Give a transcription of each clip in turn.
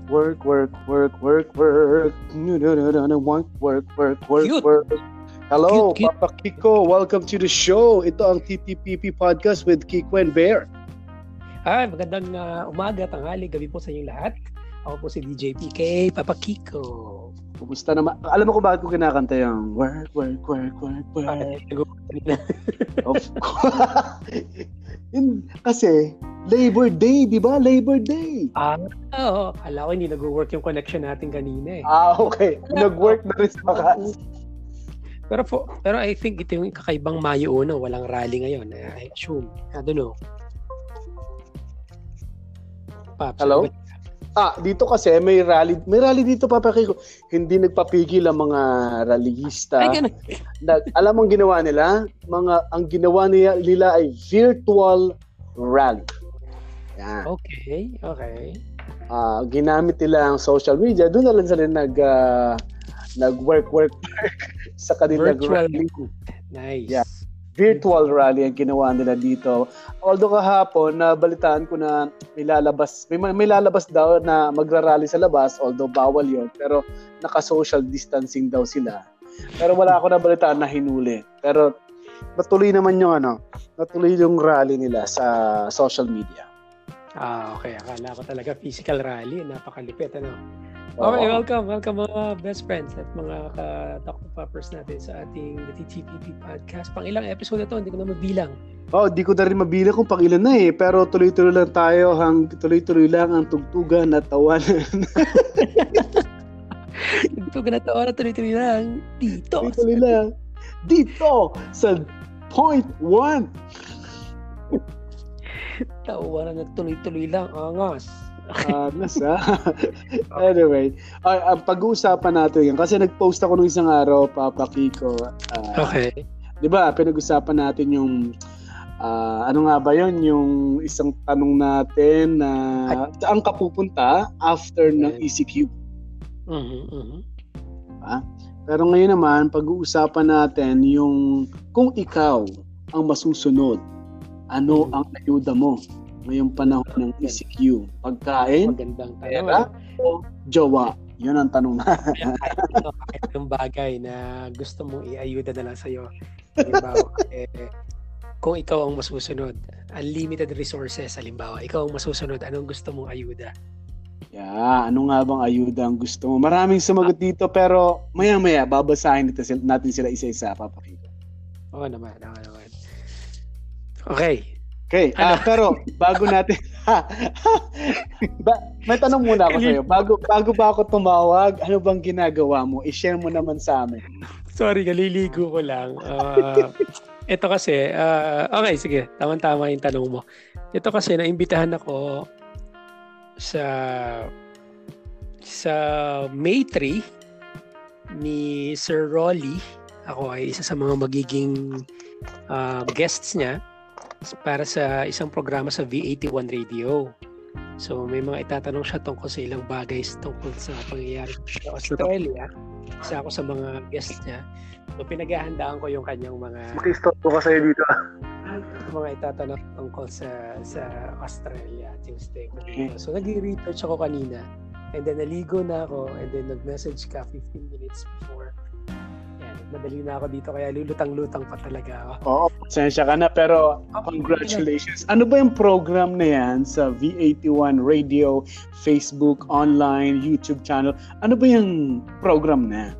Work. Cute. Work. Hello, Cute. Papa Kiko. Welcome to the show. Ito ang TTPP Podcast with Kiko and Bear. Magandang umaga, tanghali, gabi po sa inyong lahat. Ako po si DJ PK, Papa Kiko. Kumusta naman? Alam mo kung bakit ko kinakanta yung work. Of course. Kasi Labor Day, di ba? Labor Day. Oo. Kala ko hindi nag-work yung connection natin kanina eh. Okay. Nag-work na rin sa wakas. Pero I think ito yung kakaibang Mayo una, walang rally ngayon. I assume. I don't know. Paps, Hello? Dito kasi may rally dito, Papa Kiko. Hindi nagpapigil ang mga rallyista. Ay, ganun. Alam mo ang ginawa nila? Ang ginawa nila ay virtual rally. Yan. Okay. Ginamit nila ang social media. Doon na lang sila nag-work sa kanilang Virtual rally. Nice. Yeah. Virtual rally ang ginawa nila dito. Although kahapon, nabalitaan ko na may lalabas daw na magra-rally sa labas, although bawal yon, pero naka-social distancing daw sila. Pero wala ako nabalitaan na hinuli. Pero natuloy naman natuloy yung rally nila sa social media. Okay. Akala ko talaga physical rally. Napakalipit, ano? Okay, welcome mga best friends at mga ka-Dr. Poppers natin sa ating TTPP Podcast. Pang ilang episode na to, hindi ko na mabilang. Di ko na rin mabilang kung pang ilan na pero tuloy-tuloy lang tayo, tuloy-tuloy lang ang tugtugan at tawanan. Tugtugan at tawanan, tuloy-tuloy lang dito. Tuloy-tuloy lang dito sa Point 1. Tawanan at tuloy-tuloy lang, angas. Anyway, ang pag-uusapan natin yan kasi nag-post ako nung isang araw, Papa Kiko. Okay. 'Di ba? Pinag-usapan natin yung ano nga ba 'yon, yung isang tanong natin na saan ka pupunta after ng ECQ. Pero ngayon naman, pag-uusapan natin yung kung ikaw ang masusunod, ano ang ayuda mo ngayong panahon ng ECQ? Pagkain, magandang pera, o jowa? Yun ang tanong na. Kahit yung bagay na gusto mong iayuda na lang sa'yo. Halimbawa, kung ikaw ang masusunod, unlimited resources, halimbawa, ikaw ang masusunod, anong gusto mong ayuda? Ano nga bang ayuda ang gusto mo? Maraming sumagot dito, pero maya-maya, babasahin natin sila isa-isa, Papa Kiko. Oo naman. Okay. Pero bago natin may tanong muna ako sa'yo. Bago ba ako tumawag, ano bang ginagawa mo? I-share mo naman sa amin. Sorry, kaliligo ko lang. Ito kasi, okay, sige. Tama-tama yung tanong mo. Ito kasi, naimbitahan ako sa May 3 ni Sir Rolly. Ako ay isa sa mga magiging guests niya para sa isang programa sa V81 Radio. So may mga itatanong siya tungkol sa ilang bagay tungkol sa pangyayari sa Australia. Isa ako sa mga guests niya. So pinaghahandaan ko yung kanyang mga Makistop ko sa'yo dito. Mga itatanong tungkol sa Australia at yung stay ko dito. So nag-research ako kanina and then naligo na ako and then nag-message ka 15 minutes before. Madali na ako dito kaya lulutang-lutang pa talaga ako. Pasensya ka na pero congratulations. Ano ba yung program na yan sa V81 Radio, Facebook, online, YouTube channel? Ano ba yung program na?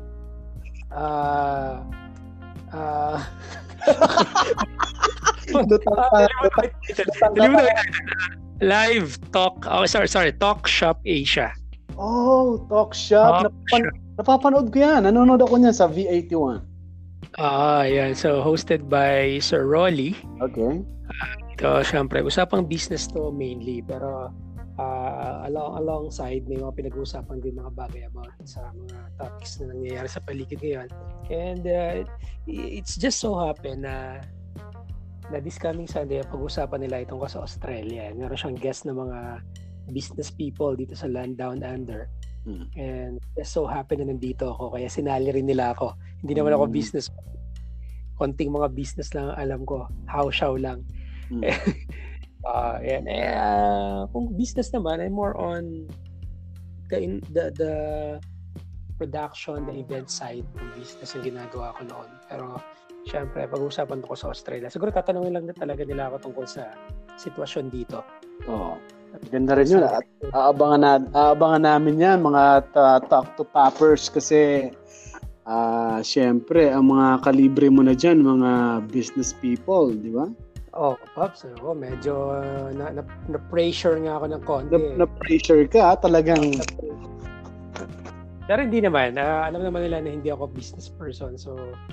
Live Talk. Sorry. Talk Shop Asia. Talk Shop. Napapanood ko yan. Nanonood ako niyan sa V81. Yan. So, hosted by Sir Rolly. Okay. Ito, syempre, usapang business to mainly. Pero, alongside, may mga pinag-uusapan din mga bagay about sa mga topics na nangyayari sa paligid ngayon. And, it's just so happen na this coming Sunday, pag-usapan nila itong sa Australia. Meron siyang guest na mga business people dito sa Land Down Under. And just so happen na nandito ako kaya sinali rin nila ako. Hindi naman ako business. Konting mga business lang alam ko. How lang. Kung business naman, I'm more on the production, the event side ng business ang ginagawa ko noon. Pero syempre, pag-uusapan ko sa Australia. Siguro tatanungin lang na talaga nila ako tungkol sa sitwasyon dito. Oo. Ganda rin yun. At aabangan namin yan, mga Talk to Poppers, kasi syempre, ang mga kalibre mo na dyan, mga business people, di ba? Pops, medyo na-pressure nga ako ng konti. Na-pressure ka, talagang... Pero hindi naman. Alam naman nila na hindi ako business person. So,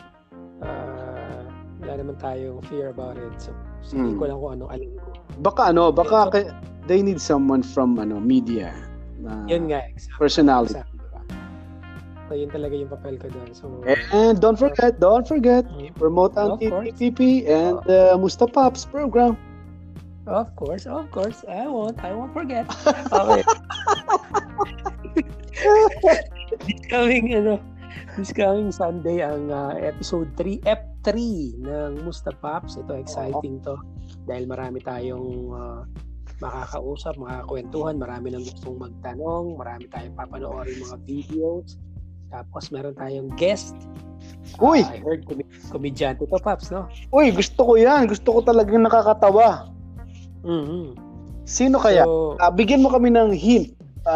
wala naman tayong fear about it. So, hindi ko lang kung anong alam ko. Baka they need someone from media. Yun nga, exactly. Personality. Exactly. So, yun talaga yung papel ko doon. So, and don't forget, promote ang TPP and Musta Pops program. Of course. I won't forget. Okay. This coming Sunday ang episode 3, F3 ng Musta Pops. Ito, exciting to. Dahil marami tayong makakausap, makakakwentuhan, marami nang gustong magtanong, marami tayong papanoorin mga videos. Tapos meron tayong guest. Uy! I heard komedyante to, Pops, no? Uy, gusto ko yan. Gusto ko talagang nakakatawa. Mm-hmm. Sino kaya? So, bigyan mo kami ng hint.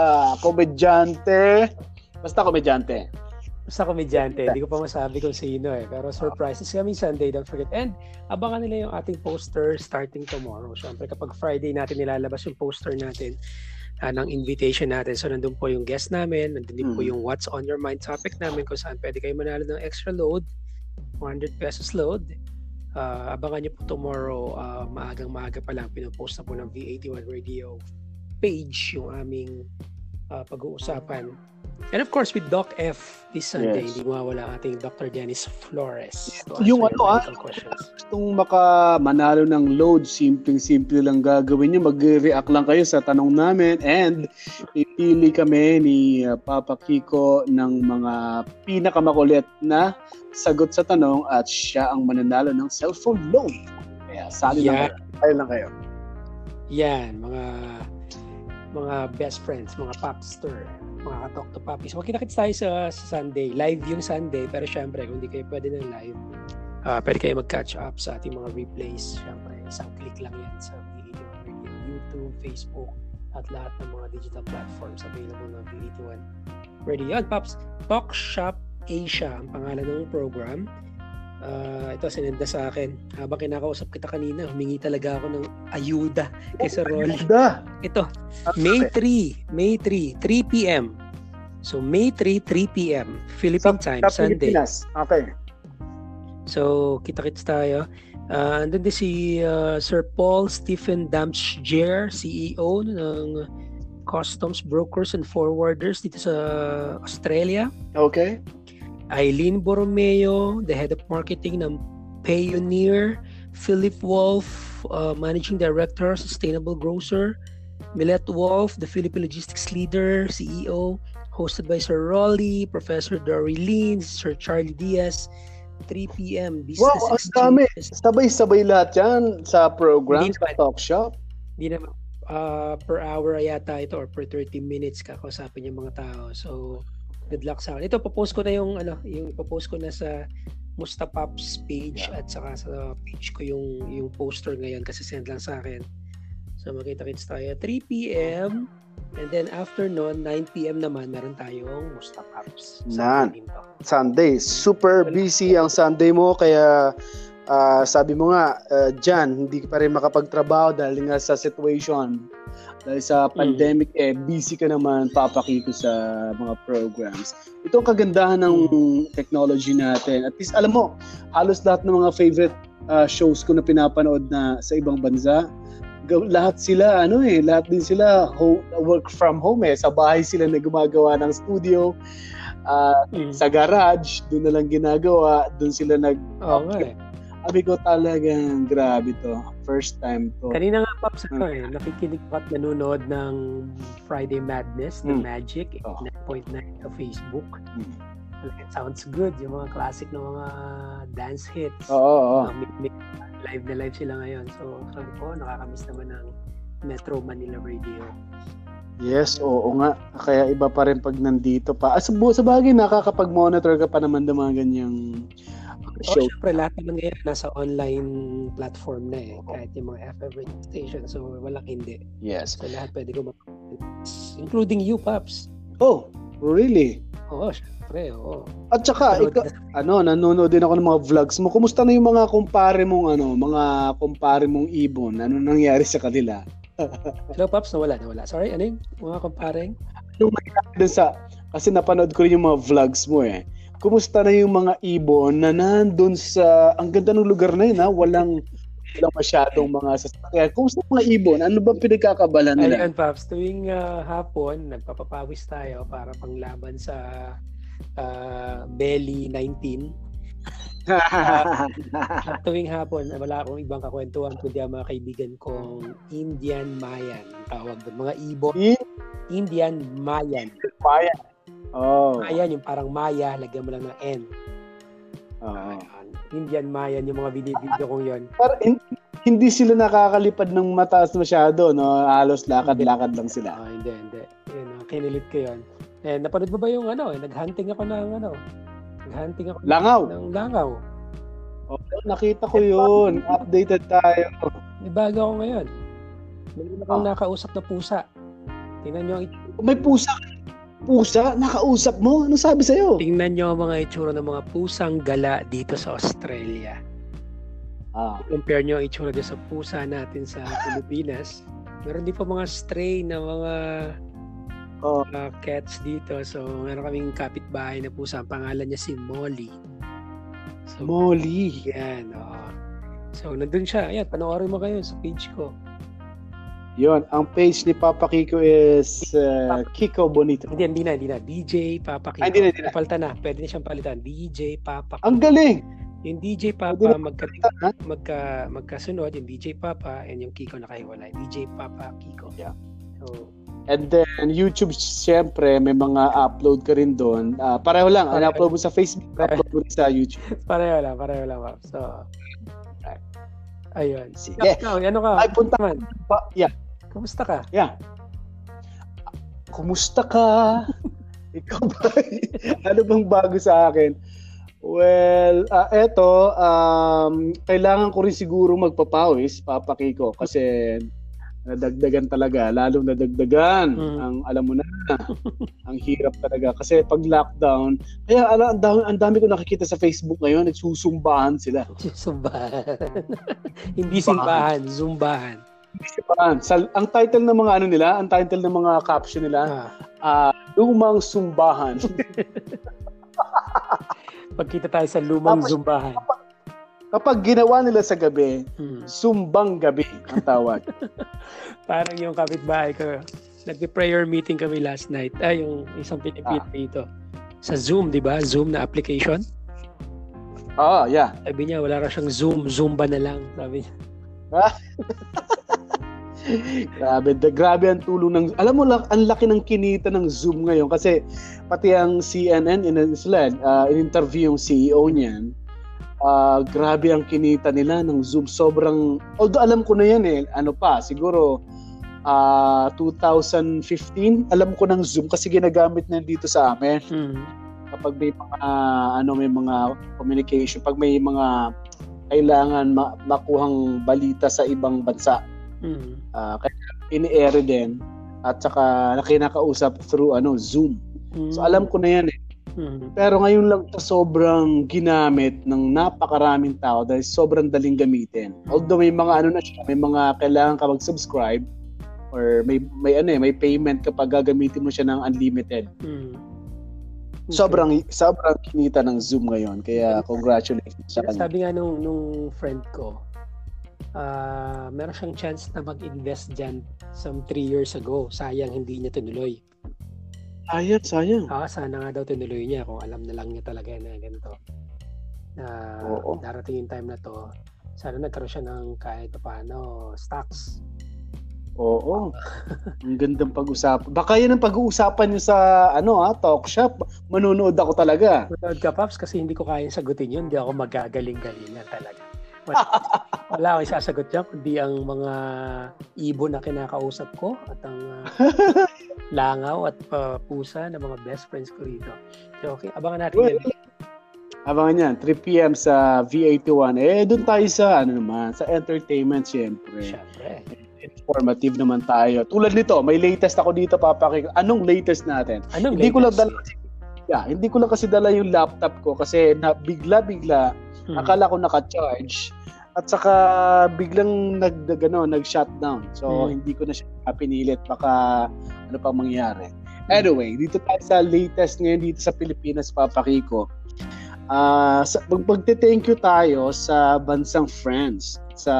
Komedyante. Basta komedyante. Hindi ko pa masabi kung sino Pero surprises kami Sunday, don't forget. And abangan nila yung ating poster starting tomorrow. Siyempre kapag Friday natin nilalabas yung poster natin ng invitation natin. So nandun po yung guest namin, nandun din po yung What's on Your Mind topic namin kung saan pwede kayo manalo ng extra load, 100 pesos load. Abangan nyo po tomorrow, maagang-maaga pa lang, pinopost na po ng V81 Radio page yung aming pag-uusapan. And of course, with Doc F this Sunday, hindi mawawala ang ating Dr. Dennis Flores. Yung gustong manalo ng load, simpleng-simple lang gagawin nyo. Mag-react lang kayo sa tanong namin and ipili kami ni Papa Kiko ng mga pinakamakulit na sagot sa tanong at siya ang mananalo ng cellphone load. Kaya sali lang kayo. Yan, mga best friends, mga popster, mga ka-talk to poppies. Magkita-kits tayo sa Sunday. Live yung Sunday, pero syempre, kung hindi kayo pwede ng live, pwede kayo mag-catch up sa ating mga replays. Syempre, isang click lang yan sa V81 Radio, YouTube, Facebook, at lahat ng mga digital platforms available ng V81 Radio. Yan, Pops, Talk Shop Asia ang pangalan ng program. Ito sinenda sa akin habang kinakausap kita kanina, humingi talaga ako ng ayuda kay Sir Rolly. Ito, May 3 3 p.m. So May 3 p.m. Philippine time, Sunday. Okay. So kita-kits tayo. Andun din si Sir Paul Stephen Damsjer, CEO ng Customs Brokers and Forwarders dito sa Australia. Okay. Eileen Borromeo, the head of marketing ng Payoneer. Philip Wolf, managing director, sustainable grocer. Milette Wolf, the Philippine logistics leader, CEO. Hosted by Sir Rolly, Professor Dory Lin, Sir Charlie Diaz. 3 p.m. Business Exchange. Sabay-sabay lahat yan sa program, sa talk shop. Hindi naman. Per hour yata ito or per 30 minutes kakausapin yung mga tao. So, good luck sa akin. Ito, popost ko na yung ipopost ko na sa Musta Pops page at saka sa page ko yung poster ngayon kasi send lang sa akin. So, makita-kits tayo 3 p.m. and then after nun, 9 p.m. naman, meron tayong Musta Pops. Sunday. Super busy ang Sunday mo kaya sabi mo nga, Jan, hindi pa rin makapagtrabaho dahil nga sa situation. Dahil sa pandemic, busy ka naman, papakiko sa mga programs. Ito ang kagandahan ng technology natin. At least, alam mo, halos lahat ng mga favorite shows ko na pinapanood na sa ibang bansa, lahat din sila work from home Sa bahay sila na gumagawa ng studio. Sa garage, doon na lang ginagawa. Doon sila Sabi ko talagang grabe to. First time to. Kanina nga, Pops, nakikinig ko at nanonood ng Friday Madness, The Magic, 9.9 sa Facebook. It sounds good. Yung mga classic na mga dance hits. Live na live sila ngayon. So, sabi ko, nakakamiss naman ng Metro Manila Radio. Yes, oo nga. Kaya iba pa rin pag nandito pa. Sa bagay, nakakapag-monitor ka pa naman ng mga ganyang show. Syempre, lahat naman ngayon nasa online platform na eh. Kahit yung mga FM radio station. So, walang hindi. Yes. So, lahat pwede ko including you, Paps. Oh, really? Oo, syempre, oo. At saka, nanonood din ako ng mga vlogs mo. Kumusta na yung mga kumpare mong ibon? Ano nangyari sa kanila? Hello, Paps, nawala. Sorry, ano yung mga kumparing? Kasi napanood ko rin yung mga vlogs mo eh. Kumusta na yung mga ibon na nandun sa, ang ganda ng lugar na yun ha, walang masyadong mga sasakyan. Kumusta mga ibon? Ano ba pinagkakabala nila? Ayun, Paps, tuwing hapon, nagpapapawis tayo para panglaban sa Belly 19. Tuwing hapon, wala akong ibang kakwentuhan kundi ang mga kaibigan kong Indian Mayan. Tawag doon. Mga ibon. Indian Mayan. Mayan. Oh. Mayan, yung parang Maya, lagyan mo lang ng N. Indian Mayan, yung mga video kong yon. Pero hindi sila nakakalipad ng mataas masyado, no? Halos lakad-lakad lang sila. Hindi. Yun, kinilit ko yun. Napanood mo ba yung nag-hunting ako ng Langaw. Ng langaw. Nakita ko yun. Updated tayo. May bago ako ngayon. Meron akong nakausap na pusa. Tingnan nyo. May pusa? Pusa? Nakausap mo? Ano sabi sa'yo? Tingnan nyo ang mga itsura ng mga pusang gala dito sa Australia. Compare nyo ang itsura dito sa pusa natin sa Pilipinas. Meron din pa mga stray na mga cats dito. So, meron kaming kapitbahay na pusa. Ang pangalan niya si Molly. So, Molly. Yan, So, nandun siya. Ayan, panoorin mo kayo sa page ko. Yun, ang page ni Papa Kiko is Kiko Bonito. Hindi na. DJ Papa Kiko. Hindi na. Napalitan na. Pwede na siyang palitan. DJ Papa Kiko. Ang galing! Yung DJ Papa, magkasunod. Yung DJ Papa and yung Kiko nakahiwalay. DJ Papa Kiko. Yeah. So, and then YouTube, syempre, may mga upload ka rin doon. Pareho lang. Upload mo sa Facebook, upload mo sa YouTube. Pareho lang. So, ayun. Sige. Ano ka? Ay, punta man. Yeah. Kumusta ka? Yeah. Kumusta ka? Ikaw ba? Ano bang bago sa akin? Well, eto, kailangan ko rin siguro magpapawis, Papa Kiko, kasi nadagdagan talaga, lalong nadagdagan. Alam mo na, ang hirap talaga. Kasi pag lockdown, kaya ang dami ko nakikita sa Facebook ngayon, nagsusumbahan sila. Zumbahan. Hindi simbahan, zumbahan. Ang title ng mga ang title ng mga caption nila, lumang sumbahan. Pagkita tayo sa lumang zumbahan. Kapag ginawa nila sa gabi, sumbang gabi ang tawag. Parang yung kapitbahay ko, nag-prayer meeting kami last night. Yung isang Pilipino dito. Sa Zoom, di ba? Zoom na application. Yeah. Sabi niya, wala ra siyang Zoom, Zumba na lang. Sabi niya. Grabe ang tulong ng, alam mo lang, ang laki ng kinita ng Zoom ngayon kasi pati ang CNN in-interview yung CEO niyan. Grabe ang kinita nila ng Zoom. Sobrang, although alam ko na yan siguro 2015, alam ko ng Zoom kasi ginagamit na dito sa amin. Kapag may mga communication, pag may mga kailangan makuhang balita sa ibang bansa. Kaya ini-air din at saka kinakausap through Zoom. So alam ko na yan eh. Pero ngayon lang sobrang ginamit ng napakaraming tao dahil sobrang daling gamitin. Although may mga may mga kailangan ka mag-subscribe or may payment kapag gagamitin mo siya ng unlimited. Okay. Sobrang kinita ng Zoom ngayon. Kaya congratulations sa kanya. Sabi nga nung friend ko, meron siyang chance na mag-invest dyan some 3 years ago. Sayang hindi niya tinuloy. Sayang. Sana nga daw tinuloy niya kung alam na lang niya talaga na ganito. Darating yung time na to, sana nagkaroon siya ng kahit paano stocks. Oo. Ang gandang pag-usapan. Baka yan ang pag-uusapan niyo sa talk shop. Manunood ako talaga. Manunood ka, Paps, kasi hindi ko kayang sagutin yun. Hindi ako magagaling-galingan talaga. Wala akong isasagot dyan, kundi ang mga ibon na kinakausap ko at ang langaw at pusa na mga best friends ko rito. So, okay, abangan natin yan. Abangan yan, 3 p.m. sa V81. Doon tayo sa, sa entertainment, syempre. Syempre. Informative naman tayo. Tulad nito, may latest ako dito, papakita. Anong latest natin? Hindi ko lang kasi dala yung laptop ko kasi bigla-bigla akala ko naka-charge at saka biglang nag-shutdown. So hindi ko na siya pinilit, baka ano pang mangyari. Anyway, dito tayo sa latest ngayon dito sa Pilipinas, papakiko. Magte-thank you tayo sa bansang France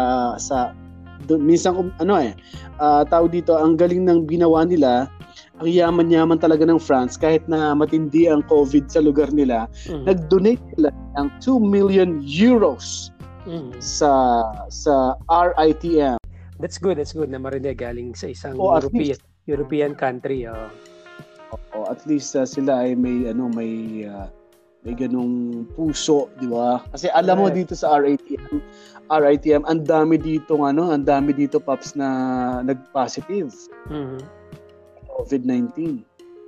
minsan tao dito, ang galing ng ginawa nila. Ang yaman-yaman talaga ng France kahit na matindi ang COVID sa lugar nila. Nag-donate sila ng 2 million euros sa RITM. That's good na marinig galing sa isang European country. At least sila ay may ganung puso, di ba? Kasi alam mo dito sa RITM, ang dami dito Pops na nag-positive. COVID-19.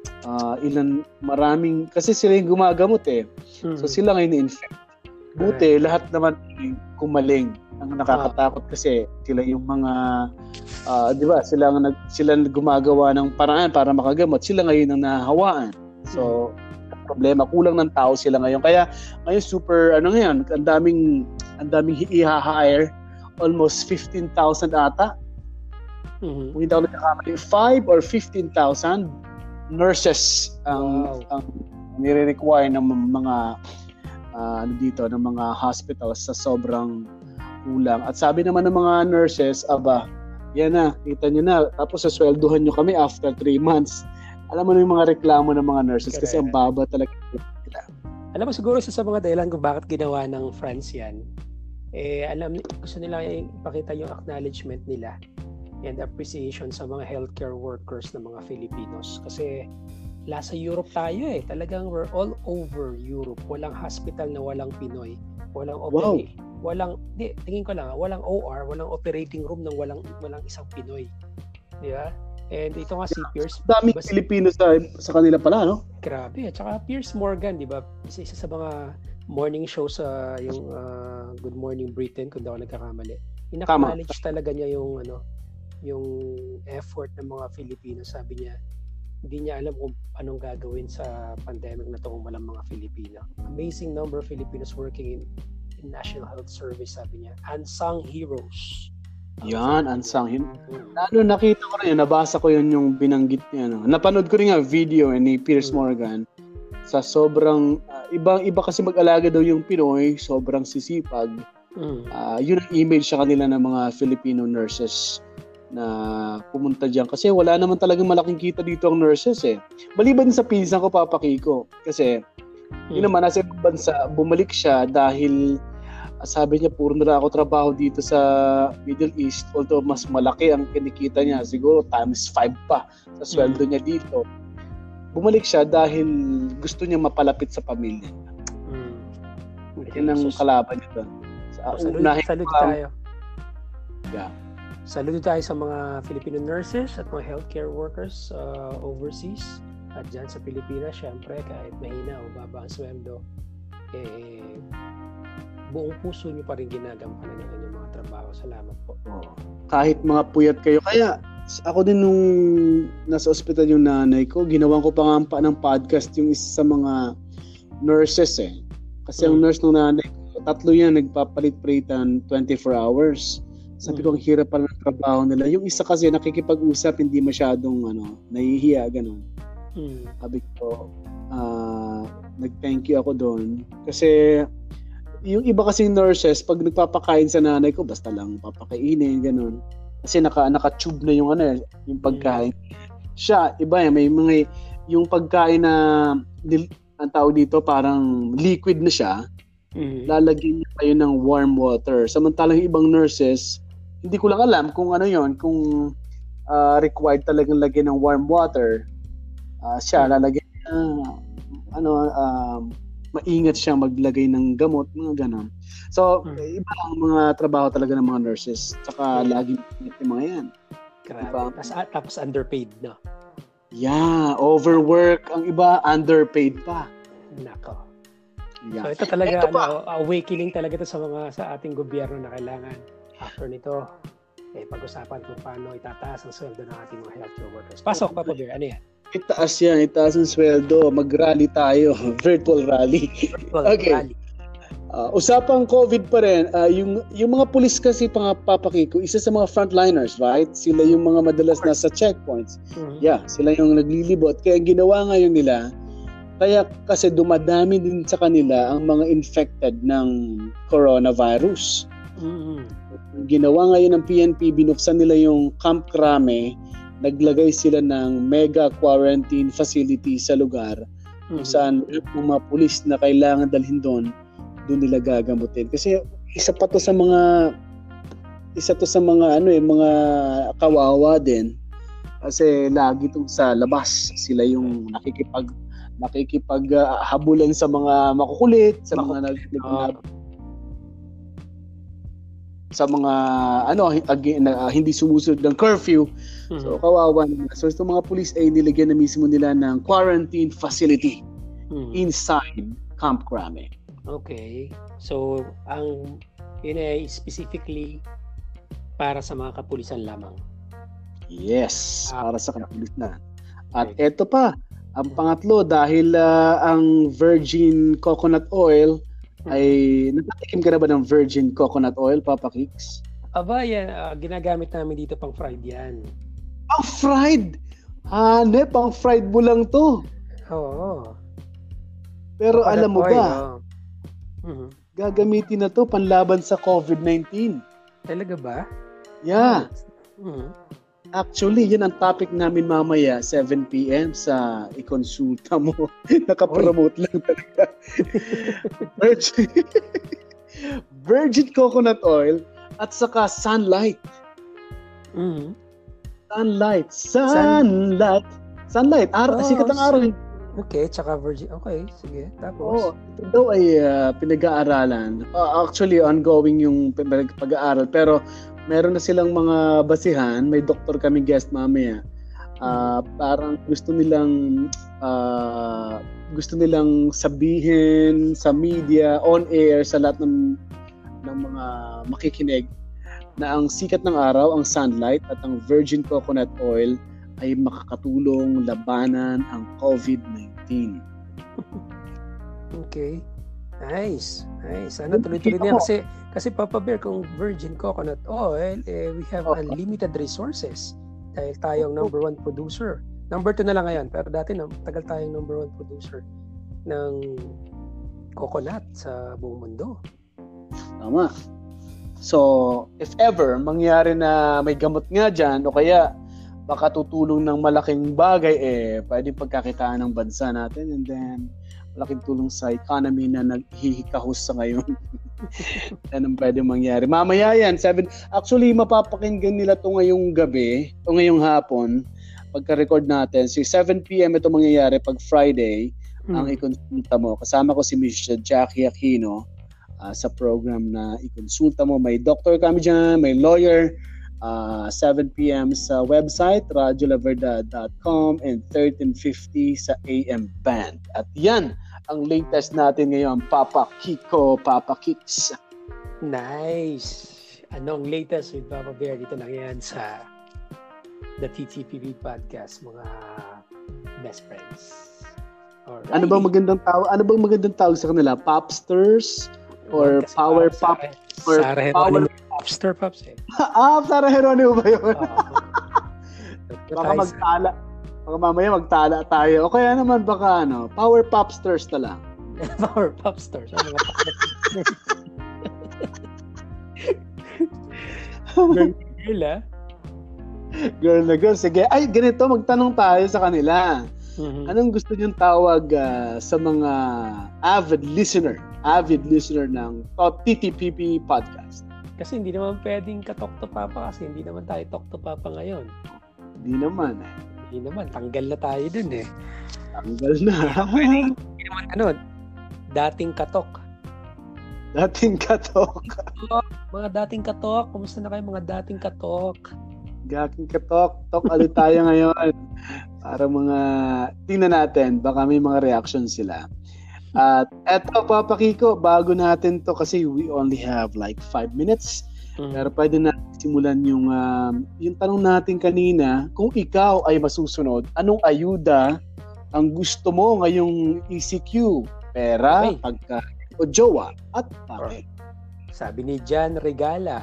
Maraming kasi sila yung gumagamot eh. So sila ngayon infect. Buti lahat naman kumaling. Ang nakakatakot kasi sila yung mga 'di ba? Sila gumagawa ng paraan para makagamot. Sila ngayon ang nahahawaan. So problema, kulang ng tao sila ngayon. Kaya ngayon super ang daming i-hire, almost 15,000 ata. Kung hindi ako nagkakamali, 5 or 15,000 nurses ang nire-require ng mga ng mga hospitals sa sobrang kulang. At sabi naman ng mga nurses, yan na, kita nyo na, tapos sasweldohan nyo kami after 3 months. Alam mo na yung mga reklamo ng mga nurses kasi ang baba talaga nila. Alam mo siguro isa sa mga dahilan kung bakit ginawa ng France yan, gusto nila ipakita yung acknowledgement nila and appreciation sa mga healthcare workers ng mga Filipinos. Kasi sa Europe tayo talagang we're all over Europe. Walang hospital na walang Pinoy. Walang tingin ko lang, walang OR, walang operating room nang walang isang Pinoy. Di ba? And ito nga si Piers. Daming Pilipino sa kanila pala, no? Grabe. At saka Piers Morgan, di ba? Isa sa mga morning show sa yung Good Morning Britain, kung daw nagkakamali. Inacknowledge talaga niya yung effort ng mga Filipino. Sabi niya, hindi niya alam kung anong gagawin sa pandemic na to kung walang mga Filipino. Amazing number of Filipinos working in National Health Service, sabi niya. Unsung heroes. Yan, unsung heroes. Nakita ko rin, nabasa ko yun yung binanggit niya. Napanood ko rin nga video ni Piers Morgan sa sobrang, iba kasi mag-alaga daw yung Pinoy, sobrang sisipag. Yun ang image sa kanila ng mga Filipino nurses na pumunta diyan kasi wala naman talagang malaking kita dito ang nurses Maliban sa pinsan ko, papakiko. Kasi yun naman, nasa bansa, bumalik siya dahil sabi niya puro na ako trabaho dito sa Middle East, although mas malaki ang kinikita niya, siguro times 5 pa sa sweldo niya dito. Bumalik siya dahil gusto niya mapalapit sa pamilya. Yan ang kalaban niya doon. Saludo tayo. Yeah. Saludo tayo sa mga Filipino nurses at mga healthcare workers overseas at dyan sa Pilipinas. Syempre, kahit mahina o baba ang sweldo, buong puso nyo pa rin ginagampanan ng inyong mga trabaho. Salamat po. Kahit mga puyat kayo. Kaya ako din nung nasa ospital yung nanay ko, ginawan ko pa nga ng podcast yung isa sa mga nurses Kasi ang nurse ng nanay ko, 3 yan, nagpapalit-palitan 24 hours. Sabi ko, ang hirap pala ng trabaho nila. Yung isa kasi nakikipag-usap, hindi masyadong nahihiya, gano'n. Sabi ko, nag-thank you ako doon. Kasi yung iba kasing nurses, pag nagpapakain sa nanay ko, basta lang papakainin, gano'n. Kasi naka-tube na yung yung pagkain. Siya, iba may mga, yung pagkain na, ang tawag dito, parang liquid na siya, lalagyan niya kayo ng warm water. Samantalang ibang nurses, hindi ko lang alam kung kung required talagang lagyan ng warm water. Siya lalagyan niya maingat siyang maglagay ng gamot, mga ganon. So, iba ang mga trabaho talaga ng mga nurses. Tsaka lagi yung mga yan. Grabe. Diba? Tapos underpaid, no? Yeah, overwork. Ang iba, underpaid pa. Nako. Yeah. So ito talaga, awakening talaga ito sa ating gobyerno na kailangan after nito, pag-usapan kung paano itataas ang sweldo ng ating mga healthcare workers. Pasok, Papa Bear, ano yan? Itaas ang sweldo. Mag-rally tayo. Virtual rally. Rally. Usapang COVID pa rin, yung mga pulis kasi Papa Kiko, isa sa mga frontliners, right? Sila yung mga madalas nasa checkpoints. Yeah, sila yung naglilibot. Kaya ginawa ngayon nila, kaya kasi dumadami din sa kanila ang mga infected ng coronavirus. Ginawa ngayon ng PNP, binuksan nila yung Camp Crame, naglagay sila ng mega quarantine facility sa lugar kung saan yung mga pulis na kailangan dalhin doon nila gagamutin. Kasi isa to sa mga mga kawawa din. Kasi lagi itong sa labas sila yung nakikipaghabulan sa mga makukulit, sa mga hindi sumusunod ng curfew. So kawawa naman. So itong mga pulis ay nilagyan na mismo nila ng quarantine facility inside Camp Crame. Okay. So, yun ay specifically para sa mga kapulisan lamang. Yes, para sa kapulisan. At eto pa, ang pangatlo, dahil ang virgin coconut oil ay, natatikim ka na ba ng virgin coconut oil, Papa Kicks? Aba, yan. Ginagamit namin dito pang fried yan. Pang fried? Pang fried mo lang to. Oo. Pero coconut alam mo oil, ba, gagamitin na to panlaban sa COVID-19. Talaga ba? Yeah. Actually, yan ang topic namin mamaya, 7 p.m. sa ikonsulta mo. Nakapromote lang talaga. Virgin coconut oil at saka sunlight. Sunlight. Sikat ang araw. Okay, tsaka virgin. Okay, sige. Tapos? Ito daw ay pinag-aaralan. Actually, ongoing yung pag-aaral. Pero meron na silang mga basihan. May doktor kami guest mamaya. Parang gusto nilang sabihin sa media, on air, sa lahat ng mga makikinig na ang sikat ng araw, ang sunlight at ang virgin coconut oil ay makakatulong labanan ang COVID-19. Okay. Nice. Sana tuloy-tuloy niya kasi Papa Bear, kung virgin coconut oil, we have unlimited resources dahil tayong number 1 producer. Number 2 na lang ngayon, pero dati tagal tayong number 1 producer ng coconut sa buong mundo. Tama. So, if ever mangyari na may gamot nga dyan o kaya baka tutulong ng malaking bagay, pwedeng pagkakitaan ng bansa natin, and then malaking tulong sa economy na naghihikahos sa ngayon. Yan ang pwedeng mangyari. Mamaya yan, actually mapapakinggan nila to ngayong gabi o ngayong hapon pagka-record natin. So 7 p.m. ito mangyayari pag Friday ang ikonsulta mo. Kasama ko si Miss Jackie Aquino sa program na ikonsulta mo. May doctor kami dyan, may lawyer. 7 p.m. sa website radiolaverdad.com and 1350 sa AM band. At yan ang latest natin ngayon, Papa Kiko, Papa Kicks. Nice. Anong latest with Papa Bear dito lang yan sa the TTPP podcast, mga best friends. Alright. Ano bang magandang tawag sa kanila? Popsters or power pop or power Popster Pops Sarah Geronimo ba yun? Baka mamaya magtala tayo. O kaya naman baka Power Popsters na lang. Power Popsters. Girl na girl. Sige. Ay, ganito. Magtanong tayo sa kanila. Anong gusto niyong tawag sa mga avid listener ng TTPP podcast? Kasi hindi naman pwedeng ka-talk to papa kasi hindi naman tayo talk to papa ngayon. Hindi naman. Tanggal na tayo dun eh. Tanggal na. Hindi naman dating katok. Dating katok. Mga dating katok, kumusta na kayo mga dating katok? Dating katok. Tok ulit tayo ngayon. Para mga, tingnan natin, baka may mga reaction sila. At eto, Papa Kiko, bago natin to kasi we only have like 5 minutes. Pero pwede natin simulan yung tanong natin kanina, kung ikaw ay masusunod, anong ayuda ang gusto mo ngayong ECQ? Pera, pagka o jowa, at bakit? Sabi ni Jan Regala,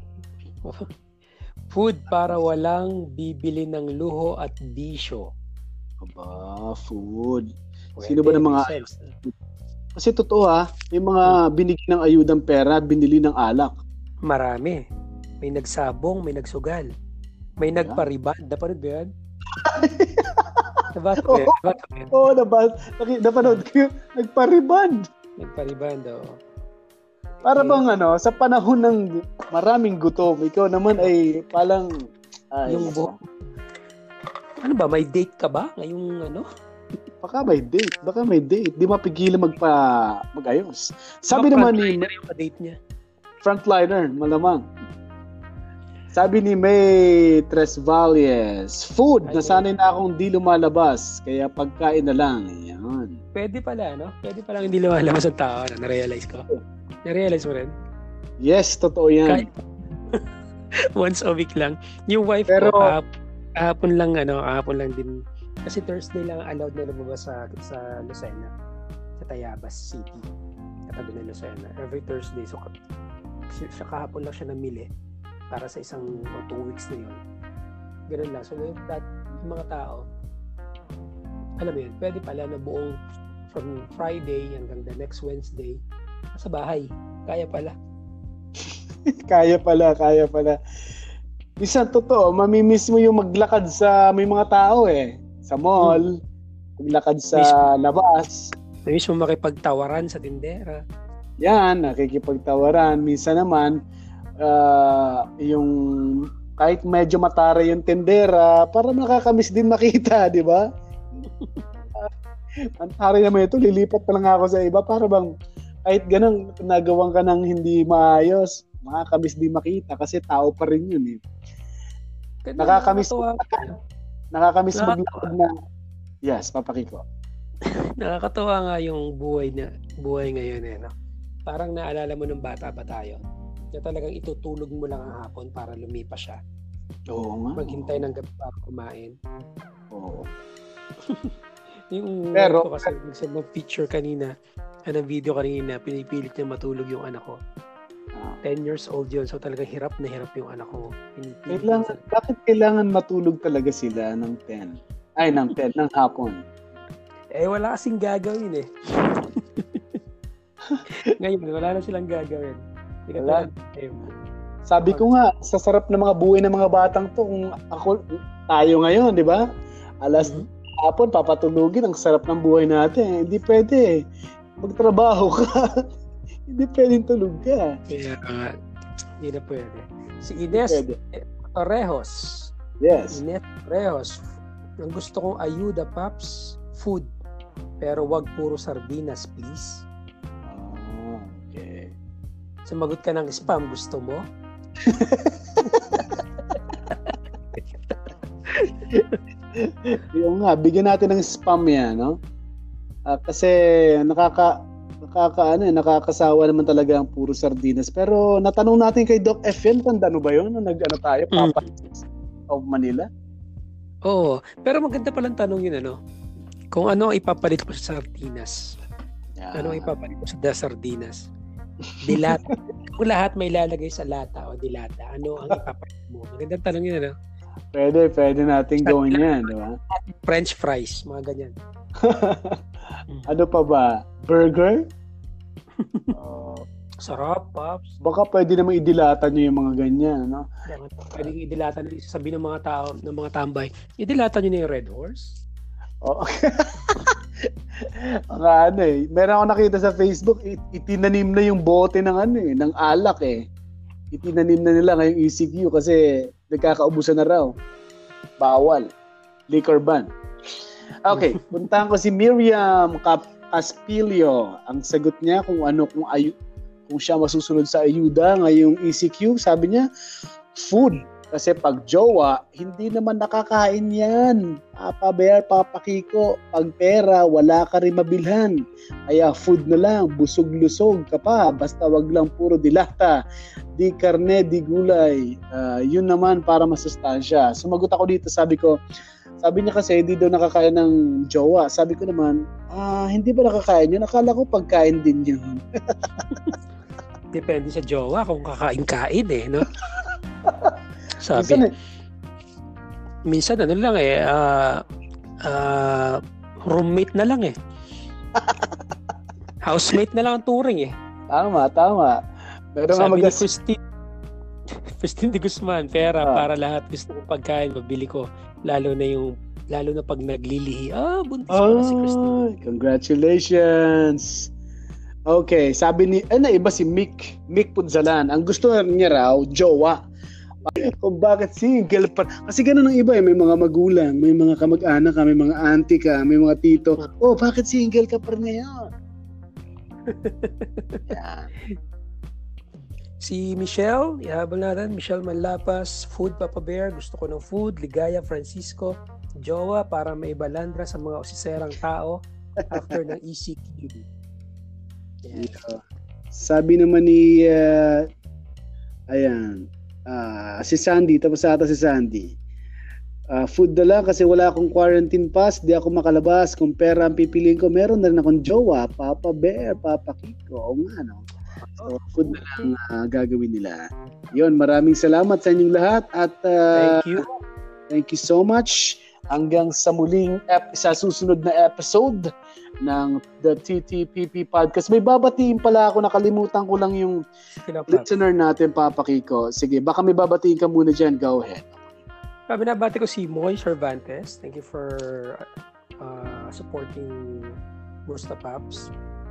food para walang bibili ng luho at bisyo. Aba, food. Pwede, Sino ba ng mga kasi totoo may mga binigyan ng ayudang pera, binili ng alak. Marami. May nagsabong, may nagsugal. May nagpariban. Napanood ba yan? Oo, napanood ko. Nagpariban. Nagpariban daw. Para bang sa panahon ng maraming gutom, ikaw naman ay palang yung ano ba, may date ka ba? Ngayong Baka may date. Di mapigilan mag-ayos. Sabi naman ni yung date niya. Frontliner, malamang. Sabi ni May Tresvalles, food, nasanay na akong di lumalabas, kaya pagkain na lang. Yan. Pwede pala, no? Pwede palang hindi lumalabas ang tao. Na-realize ko. Na-realize mo rin? Yes, totoo yan. Once a week lang. Yung wife ko, kahapon lang din. Kasi Thursday lang allowed na lumabas sa Lucena. Sa Tayabas City. Katabi ng Lucena. Every Thursday. So, kahapon lang siya namili para sa 1 o 2 weeks na yun. Ganun lang. So, yung mga tao, alam mo yun, pwede pala na buong from Friday hanggang the next Wednesday sa bahay. Kaya pala. Kaya pala. Minsan totoo, mamimiss mo yung maglakad sa may mga tao sa mall, maglakad sa labas. Namiss mo makipagtawaran sa tindera. Yan, nakikipagtawaran. Minsan naman, yung kahit medyo matara yung tindera, para nakakamiss din makita, di ba? Antari naman ito, lilipat pa lang ako sa iba para bang kahit ganun, nagawan ka ng hindi maayos, makakamiss din makita kasi tao pa rin yun Nakakamiss maglakad na. Yes, Papa Kiko. Nakakatawa nga yung buhay ngayon no? Parang naalala mo nung bata pa tayo na talagang itutulog mo lang ang hapon para lumipas siya. Oo nga. Maghintay ng gabi para kumain. Oo. Pero kasi nagsend ng picture kanina, video kanina, pinipilit niya matulog yung anak ko. 10 years old yun, so talagang hirap na hirap yung anak ko. Bakit kailangan matulog talaga sila ng 10? Ng hapon? Wala kasing gagawin Ngayon, wala na silang gagawin. Sabi ko nga, sa sarap ng mga buhay ng mga batang to, kung tayo ngayon, di ba? Alas hapon, papatulugin, ang sarap ng buhay natin. Hindi pwede. Magtrabaho ka. Hindi pwedeng tulog ka. Kaya hindi na pwede. Si Ines Torrejos. Yes. Ines Torrejos. Ang gusto kong ayuda, Paps, food. Pero wag puro sardinas, please. Okay. Sumagot ka ng spam, gusto mo? Yung nga, bigyan natin ng spam yan, no? Kasi nakakasawa naman talaga ang puro sardinas. Pero natanong natin kay Doc F yan, tanda ba yun? Tayo, Papa of Manila? Oo, pero maganda palang tanong yun, kung ano ipapalit mo sa sardinas. Yeah. Ano ipapalit mo sa sardinas? Dilata. Kung lahat may lalagay sa lata o dilata, ano ang ipapalit mo? Magandang tanong yun, Pwede natin gawin yan, di ba? French fries, mga ganyan. Ano pa ba? Burger? Sarap, Pops. Baka pwede naman idilata nyo yung mga ganyan, no? Pwede idilata nyo, sabihin ng mga tao, ng mga tambay, idilata nyo na yung Red Horse. Oo. Meron ako nakita sa Facebook, itinanim na yung bote ng alak Itinanim na nila ngayong ECQ kasi nagkakaubusan na raw. Bawal. Liquor ban. Okay, puntahan ko si Miriam Caspilio. Ang sagot niya kung siya masusunod sa ayuda ngayong ECQ, sabi niya, food. Kasi pag jowa, hindi naman nakakain yan. Papa Bear, Papa Kiko, pag pera, wala ka rin mabilhan. Kaya food na lang, busog-lusog ka pa. Basta wag lang puro dilata. Di karne, di gulay. Yun naman para masustansya. Sumagot ako dito, sabi niya kasi hindi daw nakakain ng jowa. Sabi ko naman, hindi ba nakakain yun? Akala ko pagkain din yun. Depende sa jowa kung kakain-kain no? Sabi. Minsan ano lang roommate na lang housemate na lang ang turing Tama. Pero sabi ni Christine de Guzman, pera para lahat gusto kong pagkain, mabili ko. Lalo na pag naglilihi. Buntis pala si Christine. Congratulations! Okay, sabi ni, iba si Mick Punzalan. Ang gusto niya raw, jowa. Kung bakit single pa. Kasi ganun ang iba may mga magulang, may mga kamag-anak ka, may mga auntie ka, may mga tito. Bakit single ka pa rin ngayon? Yeah. Si Michelle, ihabol natin. Michelle Manlapas, food Papa Bear, gusto ko ng food. Ligaya Francisco, jowa para maibalandra sa mga usiserang tao after ng ECQ. Yeah. Sabi naman ni si Sandy, tapos ata si Sandy. Food na lang kasi wala akong quarantine pass, di ako makalabas. Kung pera ang pipiliin ko, meron na rin akong jowa, Papa Bear, Papa Kiko. O nga, no? So, food na lang gagawin nila. Yun, maraming salamat sa inyong lahat at thank you so much. Hanggang sa muling sa susunod na episode ng The TTPP Podcast. May babatiin pala ako, nakalimutan ko lang yung listener natin, Papa Kiko. Sige, baka may babatiin ka muna dyan. Go ahead. Binabati ko si Moy Cervantes. Thank you for supporting Musta Paps.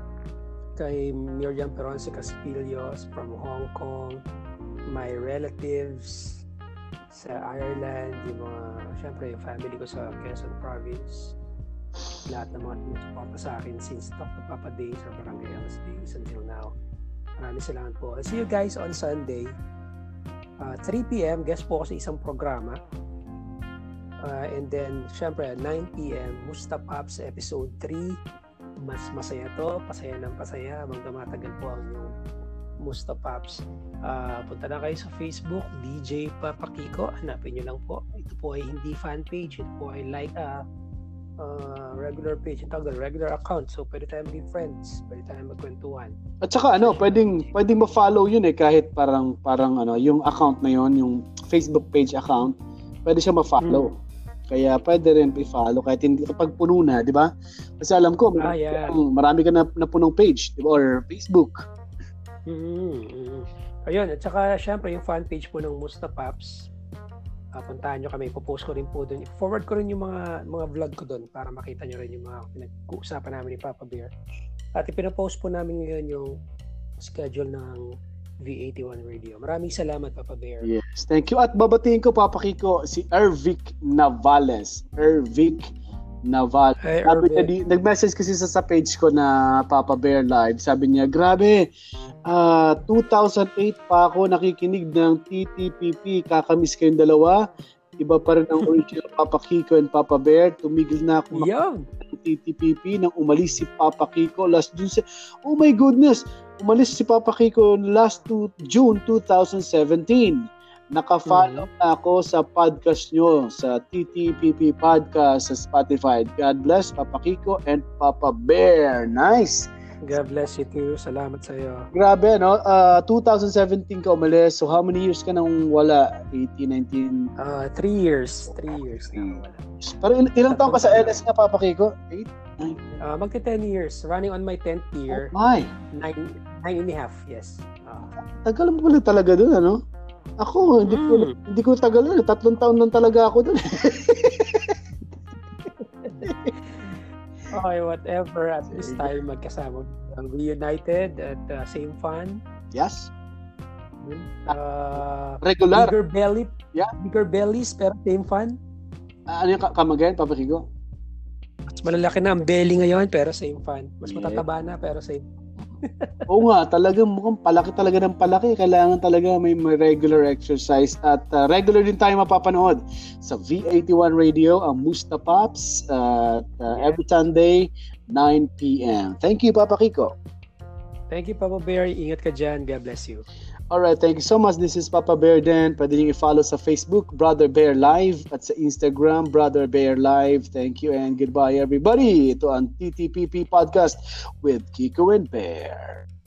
Kay Miriam Peronce Caspilios from Hong Kong. My relatives sa Ireland. Siyempre, yung family ko sa Quezon Province. Lahat ng mga tinusuporta sa akin since Talk to Papa Days or Barangay LS Days until now. Maraming salamat po. I'll see you guys on Sunday. 3 p.m. guest po ako sa isang programa. And then, syempre, 9 p.m. Musta Pops episode 3. Mas masaya to. Pasaya ng pasaya. Habang tumatagal po ang yung Musta Pops. Punta na kayo sa Facebook, DJ Papa Kiko. Hanapin nyo lang po. Ito po ay hindi fan page. Ito po ay regular page. Ito ang regular account. So, pwede tayong maging friends. Pwede tayong magkwentuhan. At saka pwedeng ma-follow yun kahit parang yung account na yun, yung Facebook page account, pwede siya ma-follow. Kaya pwede rin i-follow kahit hindi kapag puno na, di ba? Kasi alam ko, marami ka na punong page, di ba? Or Facebook. Ayun, at saka syempre yung fan page po ng Musta Paps. Puntahan nyo kami, ipopost ko rin po doon. Forward ko rin yung mga vlog ko doon para makita nyo rin yung mga pinag-uusapan namin ni Papa Bear. At ipinapost po namin ngayon yung schedule ng V81 Radio. Maraming salamat, Papa Bear. Yes, thank you. At babatiin ko, Papa Kiko, si Ervic Navales. Hey, nag-message kasi sa page ko na Papa Bear Live. Sabi niya, grabe, 2008 pa ako nakikinig ng TTPP. Kakamiss kayong dalawa. Iba pa rin ang original Papa Kiko and Papa Bear. Tumigil na ako ng TTPP nang umalis si Papa Kiko last June. Oh my goodness! Umalis si Papa Kiko last June 2017. Naka-follow na ako sa podcast nyo, sa TTPP Podcast sa Spotify. God bless Papa Kiko and Papa Bear. Nice! God bless you too. Salamat sa iyo. Grabe, 2017 ka umalis. So how many years ka nang wala? 18, 19? 3 years. 3 years na wala. Pero ilang taon ka sa LS nga, Papa Kiko? 8? 9? Magti 10 years. Running on my 10th year. Oh my! 9 and a half, yes. Tagal mo pala talaga doon, ano? Ako, hindi ko tagal doon. 3 taon lang talaga ako doon. Okay, whatever. At this time, magkasama. Reunited at same fun. Yes. Regular. Bigger bellies, pero same fun. Ano yung kamagayan, Papa Kiko? Mas malalaki na ang belly ngayon pero same fun. Mas matataba na pero same. Oo nga, talagang mukhang palaki talaga ng palaki. Kailangan talaga may regular exercise at regular din tayo mapapanood sa V81 Radio, ang Musta Pops, every Sunday, 9 p.m. Thank you, Papa Kiko. Thank you, Papa Bear. Ingat ka dyan. God bless you. Alright, thank you so much. This is Papa Bear Den. Pwede niyo i-follow sa Facebook, Brother Bear Live, at sa Instagram, Brother Bear Live. Thank you and goodbye, everybody. Ito ang TTPP Podcast with Kiko and Bear.